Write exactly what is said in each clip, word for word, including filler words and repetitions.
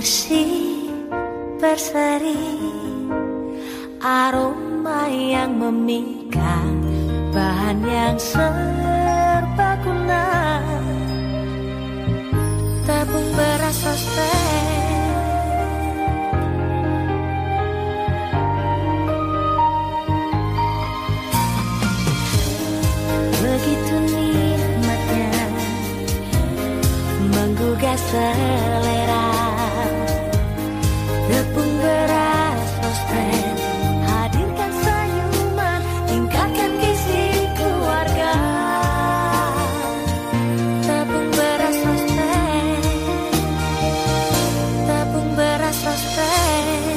Musik berseri, aroma yang memikat, bahan yang serbaguna, tabung beras sosmed. Begitu nikmatnya menggugah selera, tepung beras sosmed hadirkan senyuman, tingkatkan gizi keluarga. Tepung beras sosmed, tepung beras sosmed.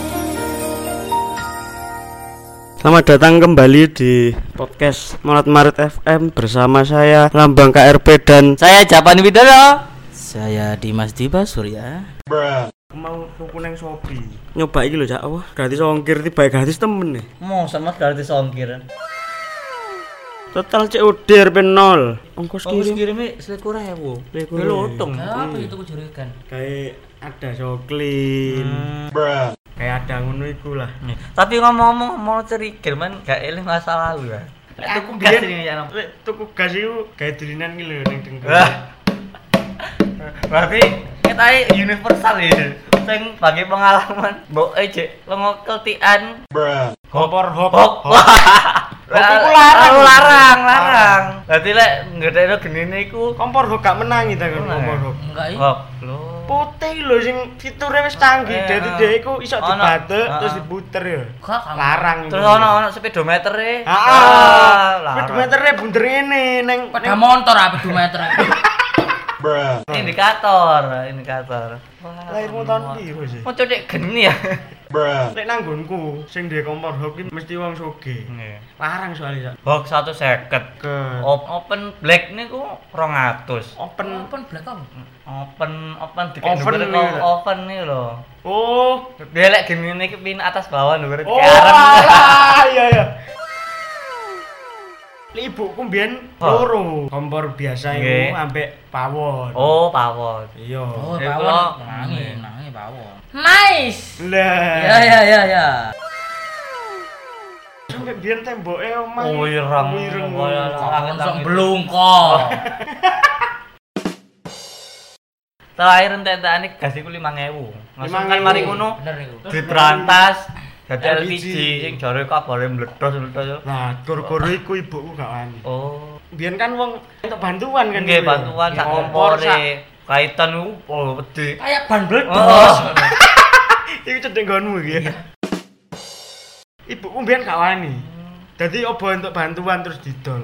Selamat datang kembali di podcast Molat Marit F M bersama saya Lambang K R P dan saya Japan Widodo. Saya Dimas Diba Surya. mau tuku nang Shopee. Nyoba iki lho Cak, wah gratis ongkir tiba gratis temen nih. Mau sama gratis ongkir. Total C O D R P nol. Ongkos Ongkos kirim kirime selikur ewu. Selikur Lotong. ewu. Apa itu kujurikan? Kayak ada soklin. Hmm. Kayak ada ngono iku lah. Tapi ngomong-ngomong mau cerikir man gak eling masa lalu ya. Aku Tuku gas biyen ini ya. lek tuku gas iku gawe dolinan iki lho ning dengkul. Berarti kita universal ya. Sing bagi pengalaman mbok ejek lengo keltian Kompor hop. hop. Hop iku larang. larang, larang. Dadi lek ngedekno genine iku Kompor hop gak menangi ta kan kompor hop. enggak iki. Hop. Lho. Putih lho sing fiture wis canggih, Eh, dadi eh. dhek iku iso Ono. dibatek Heeh. terus diputer ya. Kok kamu- Larang. Terus ono ono speedometer-e. Heeh. larang. Speedometer-e bunder ini ning Pada motor apa speedometer? Indikator, indikator. lahirmu tahun piro sih? Mau codek geni ya. Lek nang nggonku sing duwe kompor hop iki mesti wong sugih. Nggih. Larang soalnya Cak. Box seratus lima puluh. Ke Op- open black niku dua ratus. open. Open black apa? Open open dikek Oven dhuwur nih, kok lho. oven nih lho. Oh. Dia lek geni iki pin atas bawah dhuwur Oh. arep. alah, iya iya. Lek ibuku mbiyen Oh. loro kompor biasa Nggih. iku ambek pawon. Oh, pawon. Iya. Oh, Eh, pawon. kalau- Nangi, nangi pawon. Nice. Lah. Ya ya ya ya. Sampai biyen temboke omah. Oh, ireng. Ireng. Oh, iya, Kok Langit, sok langit. belungkol. Terakhir entek-entekane gas iku lima ribu. Langsung kan lima ribu. mari ngono Bener iku. diberantas dadi L L P P G. G sing jare kabare meledos-meledos. Nah, goro-goro iku ibuku gak wani. Oh, Biyen kan wong untuk bantuan kan. nggih dulu ya. bantuan sak Kompor, sak- kompore. Kaitan niku oh wedi. Kayak ban Oh. bledos. Iku cedek nggonmu iki. Ibuku mbiyen gak wani. Dadi obo untuk bantuan terus didol.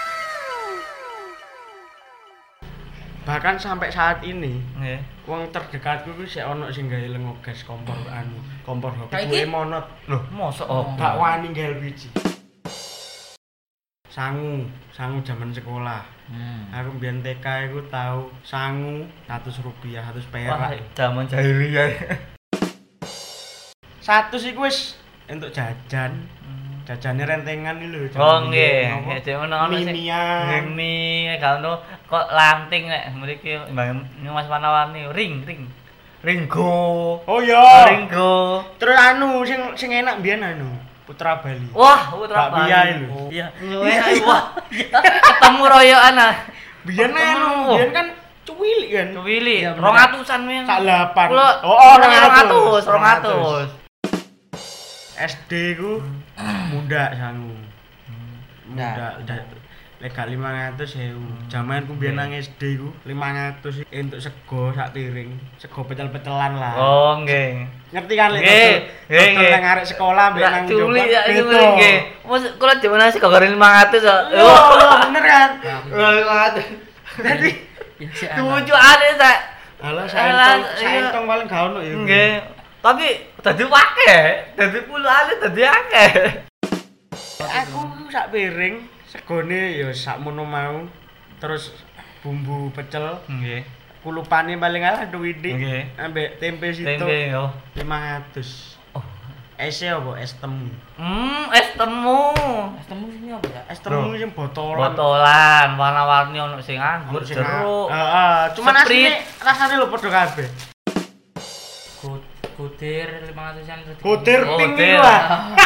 Bahkan sampai saat ini, Nggih. wong terdekatku ku sik ono sing gawe lengo gas kompor anu, kompor hop. Kayak Ibuke iki? monot. Loh, Mosok oh. gak wani gawe L P G. Sangu, sangu zaman sekolah. Hmm. Aku mbiyen T K iku tau sangu seratus rupiah, seratus Wah, perak. zaman jahiliyah. seratus iku wis entuk jajan. Jajane rentengan iki lho. Oh nggih, nggih cek ono ono sing Mimian. mimi gak ono kok lanting nek mriki Mbak Mas Manawani ring ring. Ringgo. Oh iya. Ringgo. Terus anu sing sing enak mbiyen anu, Putra Bali. Wah, putra Bakpia Bali. lho. Iya. Wah. Ketemu royokan ah. Biyen anu, biyen kan cuwilik kan. Cuwili, Iya, bener. rong atusan men. Sak delapan. Kulo Oh, oh, rong rong atus. atus, rong atus. S D ku muda sangu. Muda, Nah. udah legal lima ratus ewu. Jamanku mbiyen nang S D ku lima ratus entuk sego sak piring. Sego pecel-pecelan lah. Oh, nggih. Ngerti kan lek Nggih, dodol- nggih, dodol nggih. nang arek sekolah mbek Lah nang culi Jombang, ya iki beda. nggih. Mus kula jaman sih kok lima ratus kok. Iya, iya, bener kan? lima ratus. Jadi Ya si anak. Tujuane sak. alah Alah, saentong, iya. saentong paling gak ono ya. Nggih. Tapi dadi akeh, dadi puluhan dadi akeh. Aku sak piring segone ya sakmono mau. Terus bumbu pecel, Nggih. kulupane paling alah duwiti. Nggih. Ambek tempe situ Tempe yo. lima ratus. Oh. Es apa? Es temu. Hmm, es temu. Es temu sini apa ya? Es temu Loh. sing botolan. Botolan warna-warni ono sing anggur Sing- jeruk. Heeh, cuman Sprite. asline rasane lho padha kabeh. Godir lima ratusan terus. Godir Oh, pink godir. iku ah.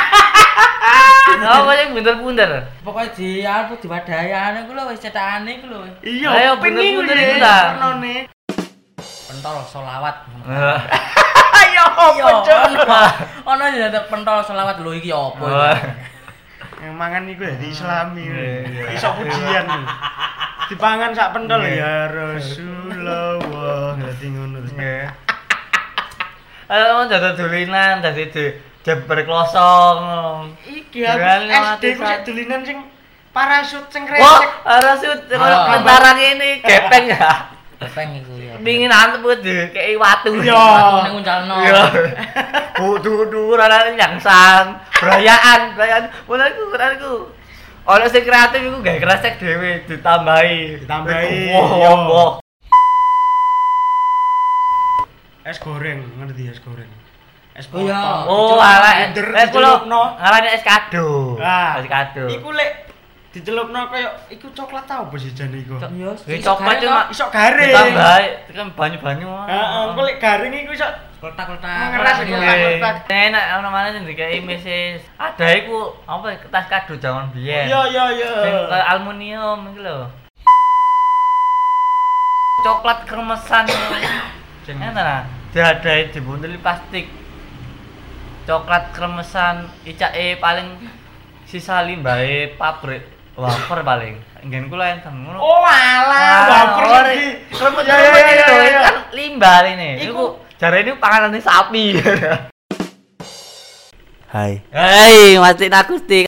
Apa sing bunder-bunder? Pokoknya di apa di wadayane ku lho wis cetakane ku lho. Iya, Ayo, pink iku bener-bener ya, iku ta. warnane. Pentol selawat. Ayo, Iya, opo ono ya ada pentol selawat lho iki apa Oh. iki? Yang mangan iku ya diislami. Iya, iya. Iso pujian. Dipangan sak pentol Iya. ya Rasulullah. Dadi ngono terus. Nggih. Ayo mau jatuh dulinan dadi di jeber klosong. Iki Dengan aku S D ku lewat sik dulinan sing parasut sing Wah, resek. harus koyo Ah. tentara ini gepeng ya. Kepeng iku ya. Pingin antep kuwi dikei watu. Iya. Aku ning uncalno. Iya. Budu-budu ana nyangsang, brayaan, brayaan. Menurutku menurutku ono sing kreatif iku gawe kresek dhewe ditambahi, Ditambahi, Wah, iya. wah. Es goreng, ngerti es goreng. Es Oh, iya. potong. Oh, Dicelupno ala blender, eh kulo dicelupno. ngarani es kado. Ah, Es kado. Iku lek dicelupno koyo iku coklat tau apa sih jane iku? Iya, Iki coklat cuma Iso garing. ditambahi, kan banyu-banyu. Heeh, engko lek garing iku iso kotak-kotak. Mengeras iku, Iya. kotak. Enak ono mana sing dikei meses. Ada iku apa kertas kado jaman biyen. Iya, iya, iya. Sing kayak aluminium iki lho. Coklat kremesan. Sing Enak nah, diadai dibuntel plastik. Coklat kremesan icake paling sisa limbahe pabrik wafer paling. Nggen kula enten ngono. Oh, alah, wafer ora iki. kremut Ya, ya, ya, itu ya, ya. kan limbah ini. Iku- Iku jare ini panganane sapi. Hai. Hei, Mas Akustik.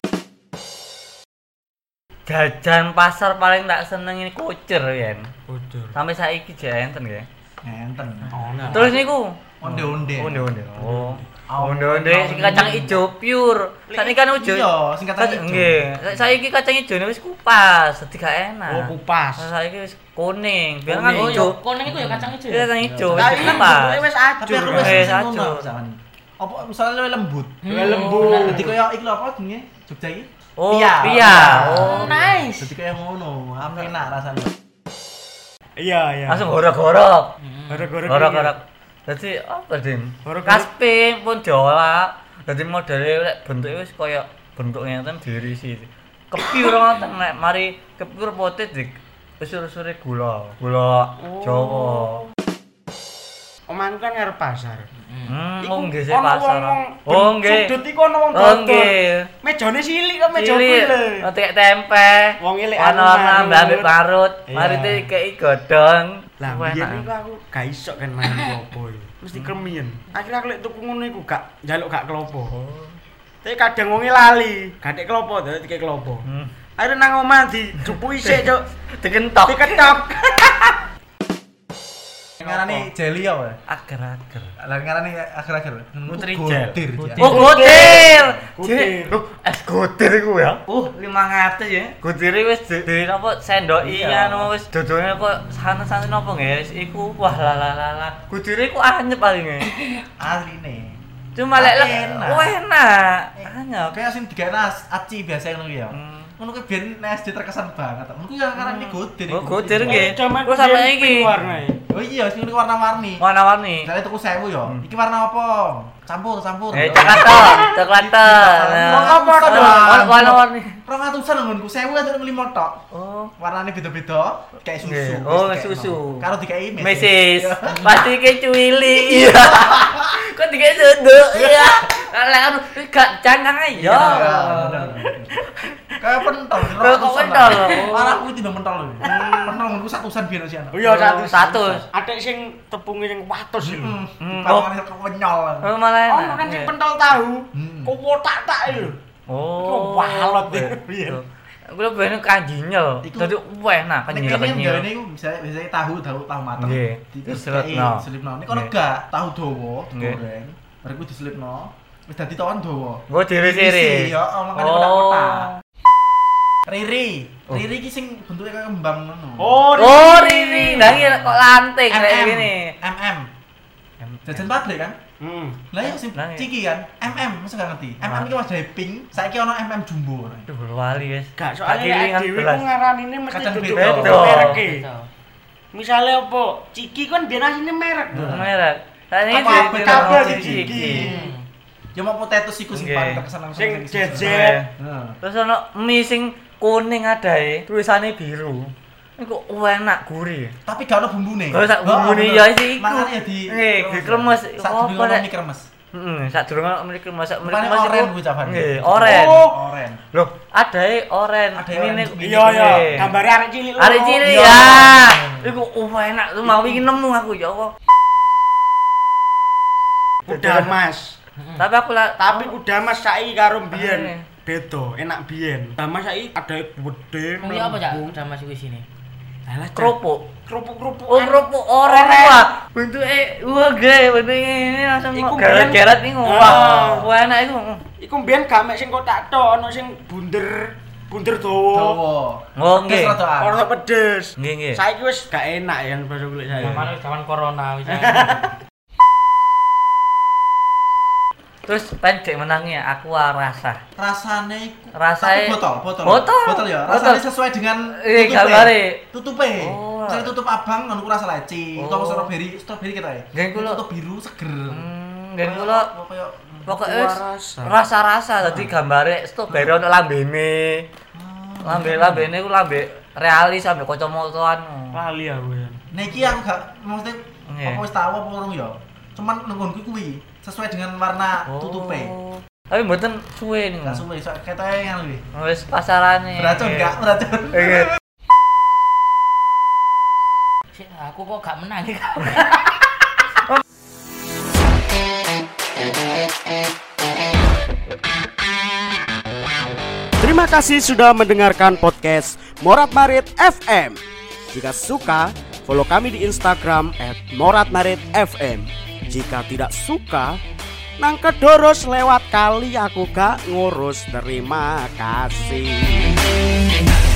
Jajan pasar paling tak seneng ini kucur yen. Kudur. Sampai saiki jek enten nggih. Enten. Ono. Terus niku Onde-onde. onde-onde. Oh. Oh, Onde-onde sing kacang ijo pure. Sakniki kan ujo. Iya, sing kacang ijo. Nggih. Saiki kacang ijone wis kupas, dadi gak enak. Oh, kupas. Nah, saiki wis kuning. Biar kan Oh, ijo. iya, kuning itu ya kacang ijo. Iya, kacang ijo wis Lah iki kupas. bentuke wis Tapi ajur. aku kan? wis Wis sing ajur. ngono misalkan. Apa misalnya luwih lembut. Luwih lembut. Dadi koyo iki lho apa jenenge? Jogja iki? Oh, Pia. pia. Oh, Nice. Dadi koyo ngono, enak rasane. Iya, iya. langsung gorok-gorok. Gara-gara Gorok-gorok. Dadi apa, Dim? Gorok-gorok. Kasping pun diolah. Dadi modele lek bentuke wis koyo bentuk ngeten diirisi. Kepiur ngoten nek mari kepiur potet dik usur-usure gula. Gula Jawa. Omahku kan ngarep pasar. Hmm, Iku oh nggih sih ono pasar. wong-wong Oh nggih. Sudut iku ono wong Oh dodol. nggih. Mejane cilik kok meja Cilik, kuwi lho. ngetik tempe. Wong cilik Ana-ana anu mbak parut. Iya. Mari dikei godhong. Lah Wah, biyen enak. iku aku gak iso kan main klopo iki. Mesti kremien. Akhirnya aku lek tuku ngono iku gak njaluk gak klopo. Oh. Tapi kadang wonge lali, gak tek klopo dadi dikek klopo. Hmm. Akhirnya nang omah dijupuki sik, Cuk. Dikentok. Diketok. Ngarani jelly apa? Ager-ager. Lah ngarani akhir-akhir. Nutrijel. Godir. Godir. Oh, gotir. Godir. Loh, es gotir iku ya. Uh, lima ratus ya. Gotire wis di, di apa sendoki Iya. anu wis dodone kok santen-santen apa guys. Iku wah la la la la. Gotire iku anyep palinge. Asline. Cuma lek lek Enak. wah enak. Anyep. Kayak sing digawe nas aci biasa ngono ya. Hmm. Ngono kuwi biyen S D terkesan banget. Ngono yang ngarani godir. Oh, iku. godir nggih. Zaman Kok sampe biyen iki? pink warnae. Oh iya, sing ngene warna-warni. Warna-warni. Misalnya tuku sewu ya. Hmm. Iki warna apa? Campur, campur. Eh, coklat toh, coklat toh. Warna apa Nah, dong? warna-warni. Rong atusan nggonku, sewu atau lima tok. Oh. Warnane beda-beda, kayak susu. Nggih. wis Oh, dikekno. susu. Karo dikai meses. Mesis. Iya. Pasti ke cuwili. Iya. Kok dikai duduk. Iya. Lah anu gak jangan aja. Iya, bener. Kayak pentol. rong Kok atusan pentol? lah. Oh. Parah kuwi tidak pentol lho. Pentol nggonku satusan biyen sih anak. Oh iya satu Satu. Atek sing tepunge sing watus iki. Heeh. Hmm. Pangane kenyol. Oh, malah enak. Ono kan sing pentol tahu. Hmm. Kok kotak-tak lho. Oh. Iku walot iki, piye? Aku lho ben kanjinyel. Iku- Dadi wah enak Nek kanjinyel kene kenyel. ngene iku biasanya biasanya tahu tahu tahu mateng. Nggih. Di- Diselipno. dikei, Diselipno. Nek kono Nggih. gak tahu dawa Nggih. digoreng. Bareng kuwi diselipno. Wis dadi tawon dawa. Gua diri-diri. Diisi, ya, oh, makanya kotak-kotak. Riri, Oh. Riri ki sing bentuke kaya kembang ngono. Oh, Oh, Riri. Lah iki kok lanting kayak M M. gini. M M. Jajan pabrik kan? Hmm. Lah ya sing Lah, iya. ciki kan? M M, masa gak ngerti. M M Wah. iki wajahe pink, saiki ono M M jumbo. Aduh, wali wis. Gak soalnya Kaki lek lingan dhewe belas. ku ngaranine mesti Kadang duduk beda. merek. Beda. Misale apa? Ciki kan biyen asline merek. Merek. Saiki Apa ditiru kabel sing iki. iki. Ya mau potatoes iku sing Nggih. paling terkesan langsung Sing sing- jejer. Heeh. Terus ono mie sing kuning adae, tulisane biru. Iku enak gurih. Tapi gak ono bumbune. Kalau sak Oh, bumbune bener. ya iki iku. Makane ya di Nggih, dikremes. Sak Apa, dulu Rek? mie kremes. Heeh, sak durung ono mriki masak mriki Rupane Mas oren iku. kuwi Cavan. Nggih, oren. Oh. Oren. Loh, adae oren. Adae Ini oren. nih. Iya iya, gambare arek cilik lho. Arek cilik Iya. ya. Iku oh, enak tuh mau iki nemu aku ya Allah. Udah Mas. Tapi aku lah Tapi udah Mas saiki karo biyen. Eh. Beda, enak biyen. Udah Mas saiki ada gede. Mau ya apa cak? melembung. Udah masuk ke sini. Alah, kerupuk. kerupuk-kerupuk. Oh, kerupuk oren wah. Bentuke wah gede, bentuke ini langsung Iku geret-geret biyen- iku. Ah. Wah, wah enak iku. Iku mbiyen gak mek sing kotak tok, ono sing bunder, bunder dawa. Dawa. Oh, Pedes nggih. rodaan. Ono pedes. Nggih, nggih. Saiki wis gak enak ya bahasa kulit saya. Zaman zaman corona wis. Terus pendek menangnya aku rasa. Rasane iku Rasane- tapi botol, botol. Botol. Botol ya. Botol. Rasane sesuai dengan Eh, tutupe. gambare. Tutupe. Oh. Misalnya tutup abang ngono ku rasa leci. Oh. Utawa strawberry, strawberry kita ya. Nggih, kula- Tutup biru seger. Hmm, nggih kula Kayak pokoknya Aqua wis rasa. rasa-rasa dadi gambare strawberry ono lambene. Lambe-lambene ku lambe realis sampe kacamataan. Lali aku ya. Nah iki yang gak maksudnya Nggih. apa wis tau apa urung ya. Cuman nenggonku kuwi sesuai dengan warna tutupe. Oh. Tapi mboten suwe niku. Gak suwe, so ketoke yang lebih. Wis pasarane. Beracun Nggih. gak? Beracun. Nggih. Sik, aku kok gak menang iki. Terima kasih sudah mendengarkan podcast Morat Marit F M. Jika suka, follow kami di Instagram et morat marit f m. Jika tidak suka, nang kedoros lewat kali aku gak ngurus. Terima kasih.